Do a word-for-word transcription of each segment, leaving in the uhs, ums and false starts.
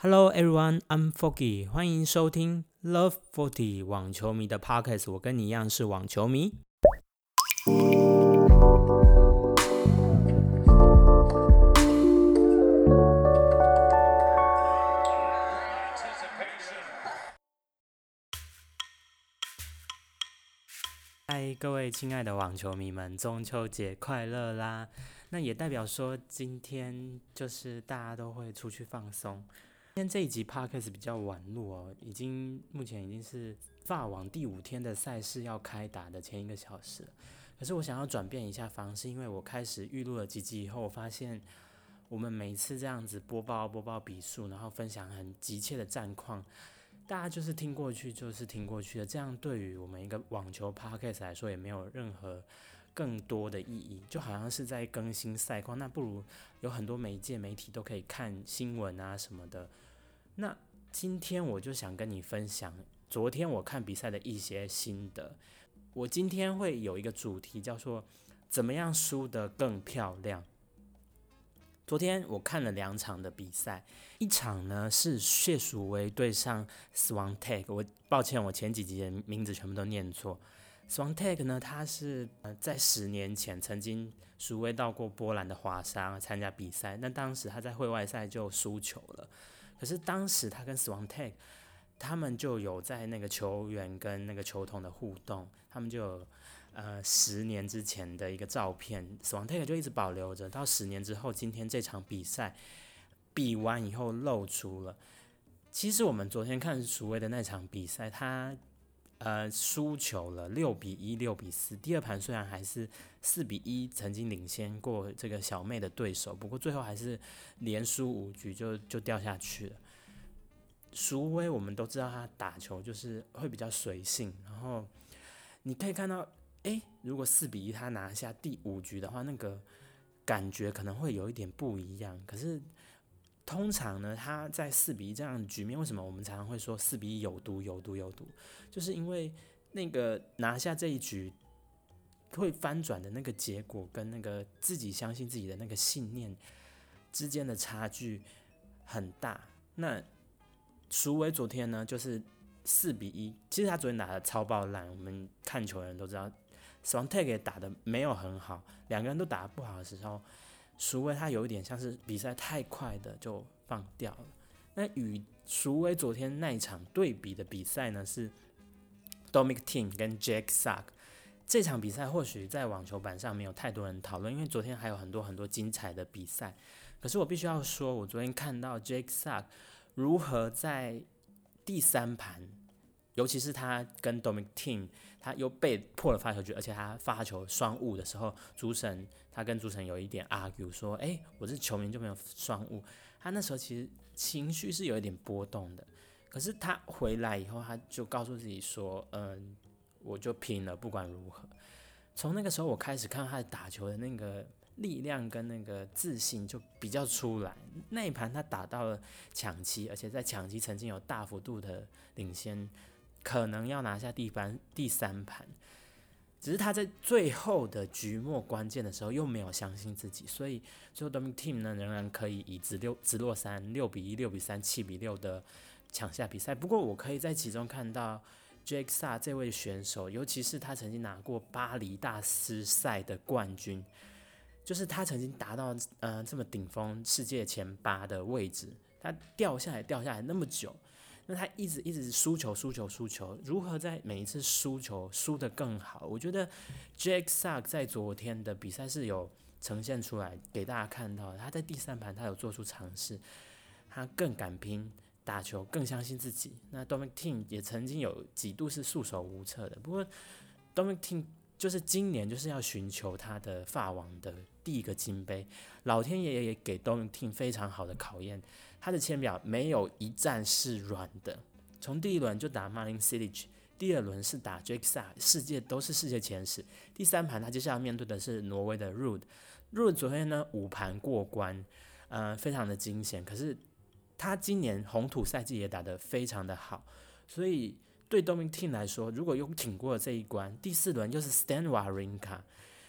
Hello everyone, I'm Foggy， 欢迎收听 Love Forty 网球迷的 Podcast。我跟你一样是网球迷。嗨，各位亲爱的网球迷们，中秋节快乐啦！那也代表说今天就是大家都会出去放松。今天这一集 podcast 比较晚录哦，已经目前已经是法网第五天的赛事要开打的前一个小时了。可是我想要转变一下方式，因为我开始预录了几集以后，我发现我们每次这样子播报播报比数，然后分享很急切的战况，大家就是听过去就是听过去的，这样对于我们一个网球 podcast 来说也没有任何更多的意义，就好像是在更新赛况，那不如有很多媒介媒体都可以看新闻啊什么的。那今天我就想跟你分享昨天我看比赛的一些心得。我今天会有一个主题叫做怎么样输得更漂亮。昨天我看了两场的比赛，一场呢是谢淑薇对上 Swiatek， 我抱歉我前几集的名字全部都念错。Swiatek 呢，他是呃在十年前曾经淑薇到过波兰的华沙参加比赛，那当时他在会外赛就输球了。可是当时他跟 Swiatek 他们就有在那个球员跟那个球童的互动，他们就有呃十年之前的一个照片 ，Swiatek 就一直保留着，到十年之后，今天这场比赛比完以后露出了。其实我们昨天看淑薇的那场比赛，他呃输球了六比一、六比四。第二盘虽然还是四比一，曾经领先过这个小妹的对手，不过最后还是连输五局就就掉下去了。淑薇我们都知道他打球就是会比较随性，然后你可以看到，哎，如果四比一他拿下第五局的话，那个感觉可能会有一点不一样。可是通常呢，他在四比一这样的局面，为什么我们常常会说四比一有毒、有毒、有毒？就是因为那个拿下这一局会翻转的那个结果，跟那个自己相信自己的那个信念之间的差距很大。那淑薇昨天呢，就是四比一，其实他昨天打的超爆烂，我们看球的人都知道 Swiatek 也打的没有很好，两个人都打得不好的时候，淑薇他有一点像是比赛太快的就放掉了。那与淑薇昨天那一场对比的比赛呢，是 Dominic Thiem 跟 Jack Sock。这场比赛或许在网球版上没有太多人讨论，因为昨天还有很多很多精彩的比赛。可是我必须要说，我昨天看到 Jack Sock 如何在第三盘，尤其是他跟 Dominic Thiem 他又被破了发球局，而且他发球双误的时候，主审他跟主审有一点 argue 说，哎，我是球员就没有双误。他那时候其实情绪是有一点波动的，可是他回来以后，他就告诉自己说，嗯，我就拼了，不管如何。从那个时候我开始看他的打球的那个力量跟那个自信就比较出来。那一盘他打到了抢七，而且在抢七曾经有大幅度的领先，可能要拿下第三第三盘。只是他在最后的局末关键的时候又没有相信自己，所以最后 Dominic Thiem 呢仍然可以以直六直落三六比一、六比三、七比六的抢下比赛。不过我可以在其中看到 Jack Sock 这位选手，尤其是他曾经拿过巴黎大师赛的冠军，就是他曾经达到呃这么顶峰世界前八的位置，他掉下来掉下来那么久。那他一直一直输球输球输球，如何在每一次输球输得更好？我觉得 Jack Sock 在昨天的比赛是有呈现出来给大家看到的，他在第三盘他有做出尝试，他更敢拼打球，更相信自己。那 Dominic Thiem 也曾经有几度是束手无策的，不过 Dominic Thiem 就是今年就是要寻求他的法网的第一个金杯，老天爷也给 Dominic Thiem 非常好的考验。他的签表没有一战是软的，从第一轮就打 Marin Cilic， 第二轮是打 Jack Sock， 世界都是世界前十。第三盘他接下来面对的是挪威的 Ruud，Ruud 昨天呢五盘过关，呃，非常的惊险。可是他今年红土赛季也打得非常的好，所以对 Dominic Thiem 来说，如果又挺过了这一关，第四轮又是 Stan Wawrinka，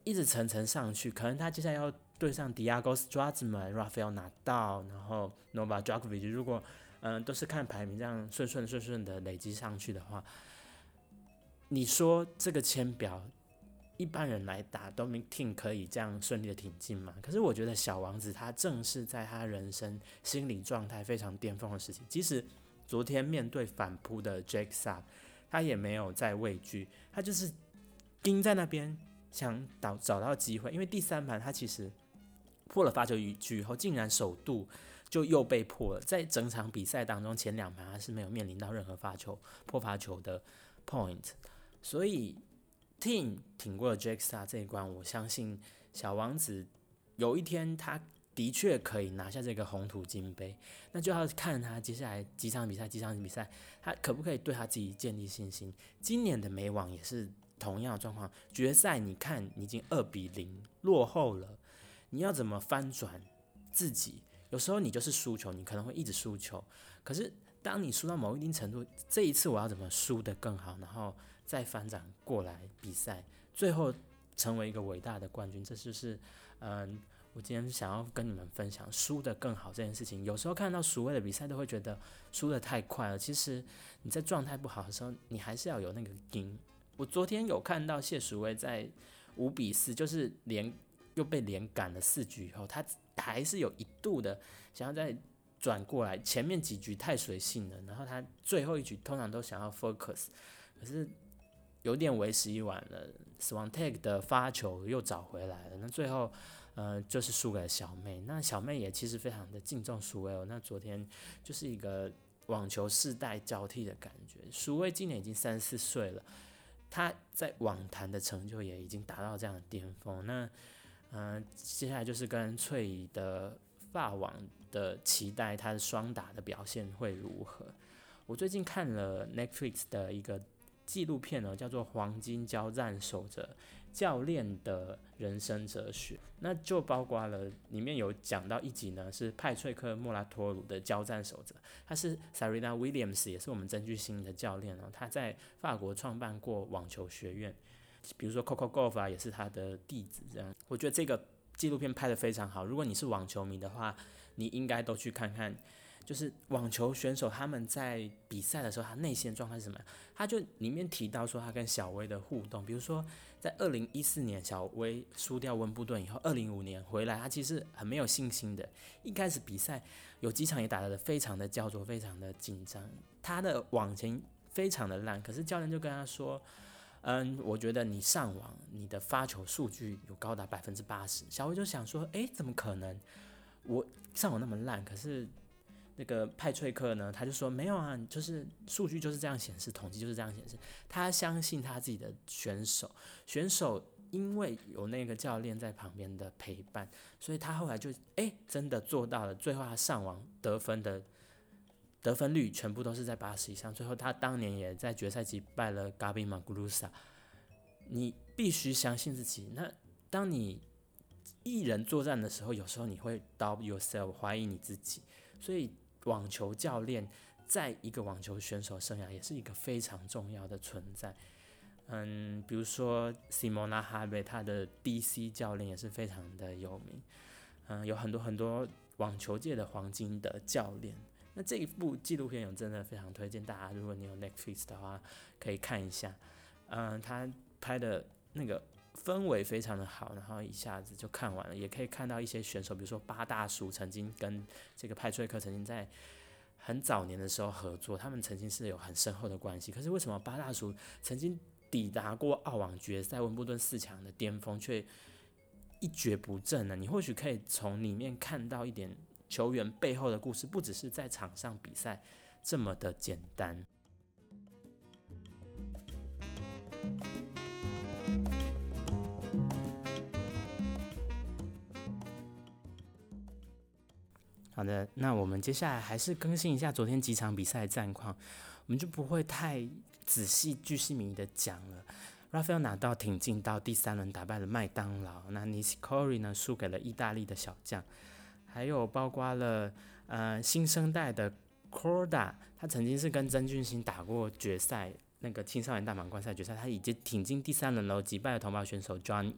一直层层上去，可能他接下来要对上 Diego Schwartzman、Rafael Nadal，然后 Novak Djokovic， 如果嗯、呃、都是看排名这样顺顺顺顺的累积上去的话，你说这个签表一般人来打 Dominic Thiem 可以这样顺利的挺进吗？可是我觉得小王子他正是在他人生心理状态非常巅峰的时期，即使昨天面对反扑的 Jake Sap， 他也没有再畏惧，他就是盯在那边想找找到机会，因为第三盘他其实破了发球局以后，竟然首度就又被破了。在整场比赛当中，前两盘他是没有面临到任何发球破发球的 point， 所以 Thiem 挺过了 Jake Sap 这一关，我相信小王子有一天他的确可以拿下这个红土金杯，那就要看他接下来几场比赛，几场比赛他可不可以对他自己建立信心。今年的美网也是同样的状况，决赛你看你已经二比零落后了，你要怎么翻转自己？有时候你就是输球，你可能会一直输球，可是当你输到某一定程度，这一次我要怎么输得更好，然后再翻转过来比赛，最后成为一个伟大的冠军，这就是嗯，我今天想要跟你们分享输得更好这件事情。有时候看到蜀威的比赛都会觉得输得太快了，其实你在状态不好的时候，你还是要有那个劲。我昨天有看到谢蜀威在五比四，就是连又被连赶了四局以后，他还是有一度的想要再转过来，前面几局太随性了，然后他最后一局通常都想要 focus， 可是有点为时已晚了。Swiatek 的发球又找回来了，那最后呃就是输给了小妹。那小妹也其实非常的敬重蜀威哦。那昨天就是一个网球世代交替的感觉。蜀威今年已经三十四岁了，他在网坛的成就也已经达到这样的巅峰。那呃接下来就是跟翠怡的法网的期待，他的双打的表现会如何？我最近看了 Netflix 的一个纪录片呢，叫做《黄金交战守则：教练的人生哲学》，那就包括了里面有讲到一集呢，是派翠克·莫拉托鲁的交战守则，他是 Serena Williams， 也是我们曾巨星的教练哦，他在法国创办过网球学院，比如说 Coco Gauff 啊，也是他的弟子这样。我觉得这个纪录片拍得非常好，如果你是网球迷的话，你应该都去看看。就是网球选手他们在比赛的时候，他内心的状态是什么？他就里面提到说他跟小威的互动，比如说在二零一四年小威输掉温布顿以后，二零一五年回来，他其实很没有信心的。一开始比赛有几场也打得非常的焦灼，非常的紧张，他的网前非常的烂，可是教练就跟他说，嗯，我觉得你上网你的发球数据有高达百分之八十。小威就想说，诶，怎么可能？我上网那么烂，可是那个派翠克呢，他就说没有啊，就是数据就是这样显示，统计就是这样显示。他相信他自己的选手，选手因为有那个教练在旁边的陪伴，所以他后来就哎真的做到了。最后他上网得分的得分率全部都是在八十以上。最后他当年也在决赛击败了 Gabi Muguruza。你必须相信自己。那当你一人作战的时候，有时候你会 doubt yourself， 怀疑你自己，所以网球教练在一个网球选手生涯也是一个非常重要的存在。嗯，比如说 Simona Halep， 他的 D C 教练也是非常的有名。嗯，有很多很多网球界的黄金的教练。那这一部纪录片我真的非常推荐大家，如果你有 Netflix 的话，可以看一下。嗯，他拍的那个氛围非常的好，然后一下子就看完了。也可以看到一些选手，比如说八大叔曾经跟这个派翠克曾经在很早年的时候合作，他们曾经是有很深厚的关系。可是为什么八大叔曾经抵达过澳网决赛、温布顿四强的巅峰，却一蹶不振呢？你或许可以从里面看到一点球员背后的故事，不只是在场上比赛这么的简单。好的，那我们接下来还是更新一下昨天几场比赛的战况，我们就不会太仔细巨细靡遗的讲了。Rafael 拿到挺进到第三轮打败了麦当劳，那 Nishikori 呢输给了意大利的小将，还有包括了呃新生代的 Korda， 他曾经是跟曾俊欣打过决赛， 那个青少年大满贯赛决赛，他已经挺进第三轮了，击败了同胞选手 John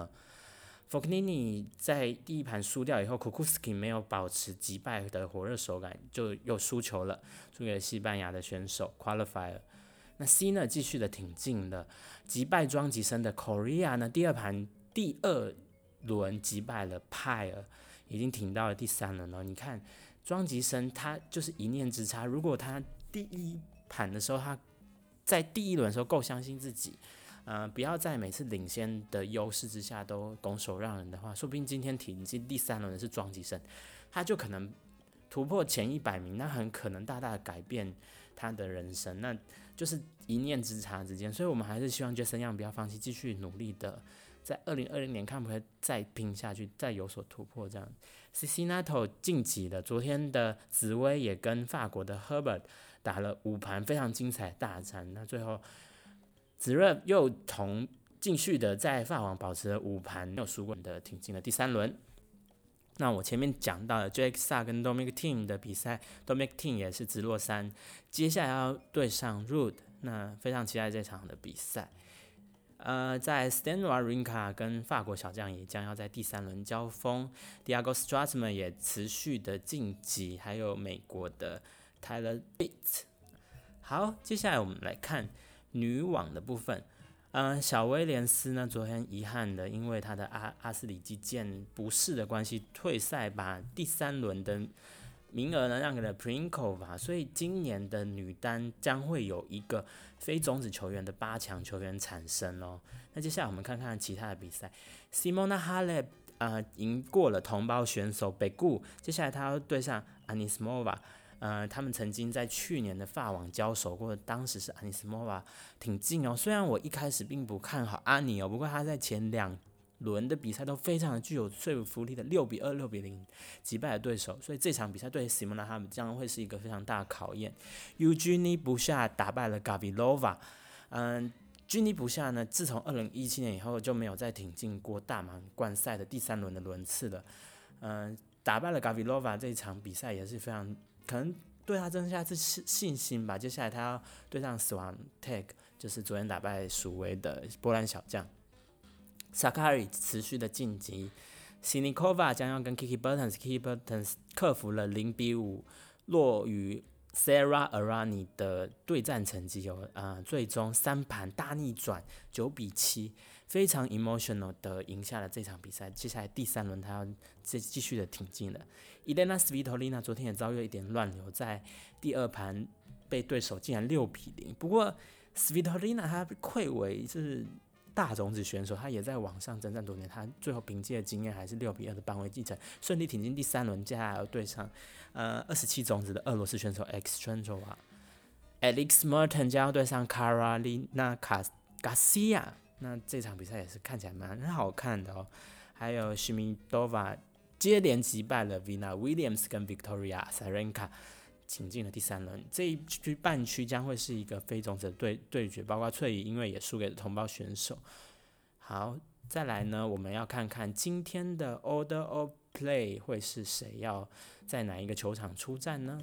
Isner。Fognini 在第一盘输掉以后 ，Kukuski 没有保持击败的火热手感，就又输球了，输给了西班牙的选手 Qualifier。那 C 呢继续的挺进了，击败庄吉生的 Korea 呢，第二盘第二轮击败了派尔，已经挺到了第三轮了。你看庄吉生他就是一念之差，如果他第一盘的时候他在第一轮的时候够相信自己。呃，不要在每次领先的优势之下都拱手让人的话，说不定今天挺进第三轮的是庄吉生，他就可能突破前一百名，那很可能大大的改变他的人生，那就是一念之差之间。所以我们还是希望 Jason Yang 不要放弃，继续努力的，在二零二零年看不可以再拼下去，再有所突破这样。Cecinato 晋级了，昨天的紫薇也跟法国的 Herbert 打了五盘非常精彩的大战，那最后。子热又同继续的在法网保持了五盘没有输过的挺进了第三轮。那我前面讲到了 Jake Sa 跟 Dominic Thiem 的比赛 ，Dominic Thiem 也是直落三，接下来要对上 Ruud， 那非常期待这场的比赛。呃，在 Stan Wawrinka 跟法国小将也将要在第三轮交锋 ，Diego Schwartzman 也持续的晋级，还有美国的 Tyler Bate。好，接下来我们来看。女网的部分，嗯，小威廉斯呢，昨天遗憾的因为他的阿阿斯里肌腱不适的关系退赛，把第三轮的名额呢让给了 Pliskova， 所以今年的女单将会有一个非种子球员的八强球员产生哦。那接下来我们看看其他的比赛 ，Simona Halep 呃赢过了同胞选手北固，接下来她要对上 Anisimova。呃，他们曾经在去年的法网交手过，当时是 Anisimova 挺近哦。虽然我一开始并不看好阿尼哦，不过他在前两轮的比赛都非常的具有说服力的，六比二、六比零击败了对手，所以这场比赛对 Simona 他们将会是一个非常大的考验。Eugenie Bouchard 打败了 Gavrilova， 嗯。居尼不下呢，自从二零一七年以后就没有再挺进过大满贯赛的第三轮的轮次了。嗯，打败了 Gavrilova 这一场比赛也是非常。可能对他增加一次信心吧。接下来他要对上 Swiatek， 就是昨天打败蜀维的波兰小将。Sakkari 持续的晋级 ，Siniakova 将要跟 Kiki Bertens，Kiki Bertens 克服了零比五落于 Sarah Errani 的对战成绩有呃，最终三盘大逆转九比七，非常 emotional 的赢下了这场比赛。接下来第三轮他要继继续的挺进了。Elena Svitolina 昨天也遭遇一点乱流，在第二盘被对手竟然六比零。不过 Svitolina 她愧为是大种子选手，她也在网上征战多年，她最后凭借经验还是六比二的扳回继承，顺利挺进第三轮。接下来要对上呃二十七种子的俄罗斯选手 X Trendova。Alex Merton 将要对上 Carolina Garcia， 那这场比赛也是看起来蛮好看的哦。还有 Shimidova。接连击败了 Vina Williams 跟 Victoria Azarenka， 挺进了第三轮。这一区半区将会是一个非种子的 对, 对决，包括翠怡因为也输给了同胞选手。好，再来呢，我们要看看今天的 Order of Play 会是谁要在哪一个球场出战呢？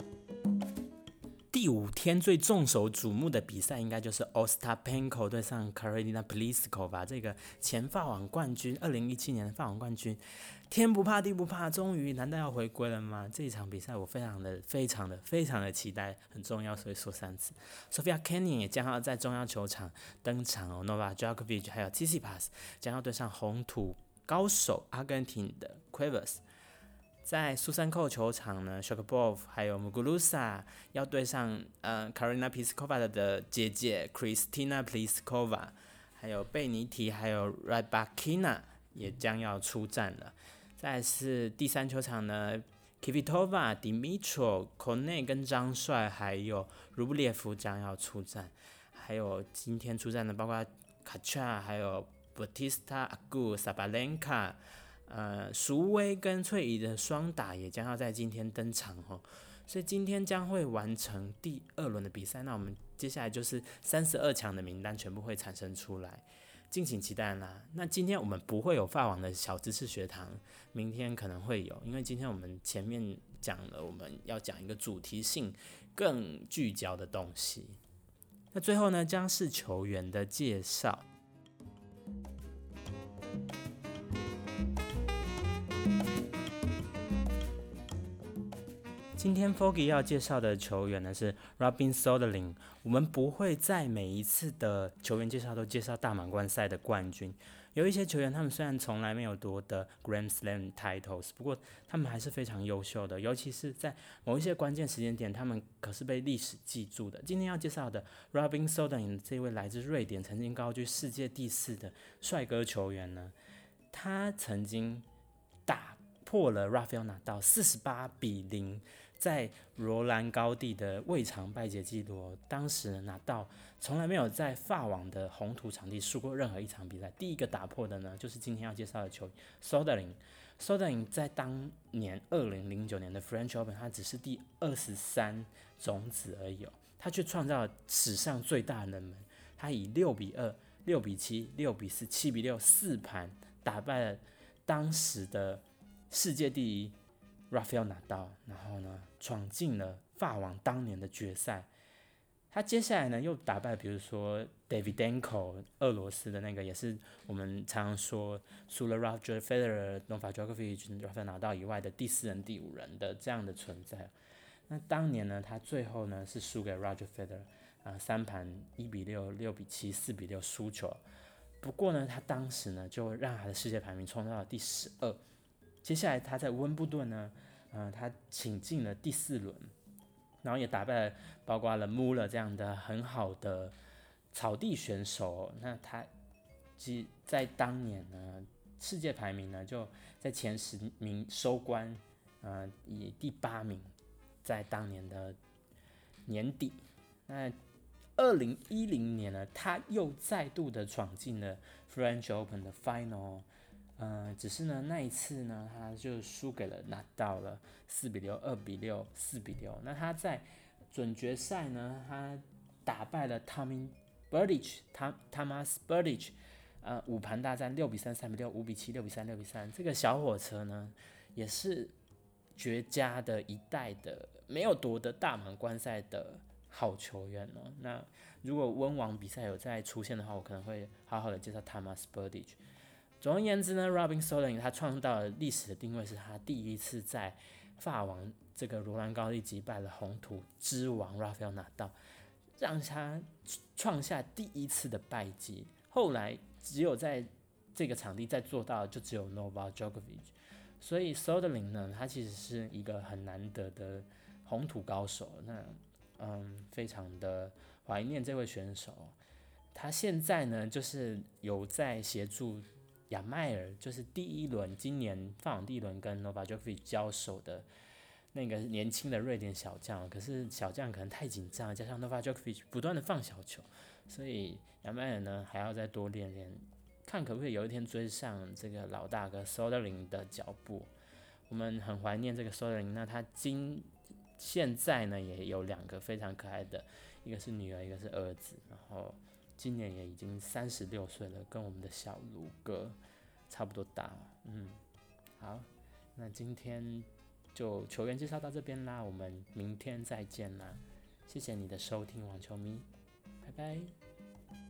第五天最众所瞩目的比赛，应该就是 Ostapenko 对上 Karolina Pliskova， 这个前法网冠军，二零一七年的法网冠军，天不怕地不怕，终于难道要回归了吗？这一场比赛我非常的、非常的、非常的期待，很重要，所以说三次。Sofia Kenin 也将要在中央球场登场哦 ，Novak Djokovic 还有 Tsitsipas 将要对上红土高手阿根廷的 Cuevas。在苏珊蔻球场呢 ，Sharapov 还有 Muguruza 要对上呃 Karolina Pliskova 的姐姐 Kristina Pliskova， 还有贝尼提还有 Rybakina 也将要出战了。再来是第三球场呢 ，Kvitova、Dimitrov、Kone 跟张帅还有卢布列夫将要出战，还有今天出战的包括 Kacha 还有 Bautista-Agut、Sabalenka。呃，蜀威跟翠怡的双打也将要在今天登场哦，所以今天将会完成第二轮的比赛。那我们接下来就是三十二强的名单全部会产生出来，敬请期待啦。那今天我们不会有法网的小知识学堂，明天可能会有，因为今天我们前面讲了，我们要讲一个主题性更聚焦的东西。 那最后呢，将是球员的介绍。今天 Foggy 要介绍的球员呢是 Robin Soderling。我们不会在每一次的球员介绍都介绍大满贯赛的冠军。有一些球员他们虽然从来没有夺得 Grand Slam titles， 不过他们还是非常优秀的，尤其是在某一些关键时间点，他们可是被历史记住的。今天要介绍的 Robin Soderling 这位来自瑞典，曾经高居世界第四的帅哥球员呢，他曾经打破了 Rafael Nadal 四十八比零。在罗兰高地的未尝败捷纪录，当时拿到从来没有在法网的红土场地输过任何一场比赛。第一个打破的呢，就是今天要介绍的球员 Soderling。Soderling 在当年二零零九年的 French Open， 他只是第二十三种子而已、哦、他却创造了史上最大的冷门。他以六比二、六比七、六比四、七比六四盘打败了当时的世界第一Rafael Nadal， 然后呢，闯进了法网当年的决赛。他接下来呢，又打败比如说 Davydenko， 俄罗斯的那个，也是我们常常说除了 Roger Federer、Novak Djokovic、Rafael Nadal 以外的第四人、第五人的这样的存在。那当年呢，他最后呢是输给 Roger Federer， 啊，三盘一比六、六比七、四比六输球。不过呢，他当时呢就让他的世界排名冲到了第十二。接下来他在温布顿呢，呃，他挺进了第四轮，然后也打败了包括了 Muller 这样的很好的草地选手。那他其在当年呢，世界排名呢就在前十名收官，呃，以第八名，在当年的年底。那二零一零年呢，他又再度的闯进了 French Open 的 Final。呃，只是呢，那一次呢，他就输给了拿到了四比六、二比六、四比六。那他在准决赛呢，他打败了 Tommy Berdych、Thomas Berdych， 呃，五盘大战六比三、三比六、五比七、六比三、六比三。这个小火车呢，也是绝佳的一代的没有夺得大满贯赛的好球员哦。那如果温网比赛有再出现的话，我可能会好好的介绍 Thomas Berdych。总而言之呢 ，Robin Soderling 他创造了历史的定位，是他第一次在法网这个罗兰高地击败了红土之王 Rafael Nadal， 让他创下第一次的败绩。后来只有在这个场地再做到的就只有 Novak Djokovic。所以 Soderling 呢，他其实是一个很难得的红土高手。那嗯，非常的怀念这位选手。他现在呢，就是有在协助亚迈尔，就是第一轮今年法网第一轮跟 Novak Djokovic 交手的那个年轻的瑞典小将，可是小将可能太紧张，加上 Novak Djokovic 不断的放小球，所以亚迈尔呢还要再多练练，看可不可以有一天追上这个老大哥 Soderling 的脚步。我们很怀念这个 Soderling， 那他今现在呢也有两个非常可爱的，一个是女儿，一个是儿子，然后今年也已经三十六岁了，跟我们的小卢哥差不多大。嗯，好，那今天就球员介绍到这边啦，我们明天再见啦，谢谢你的收听，网球迷，拜拜。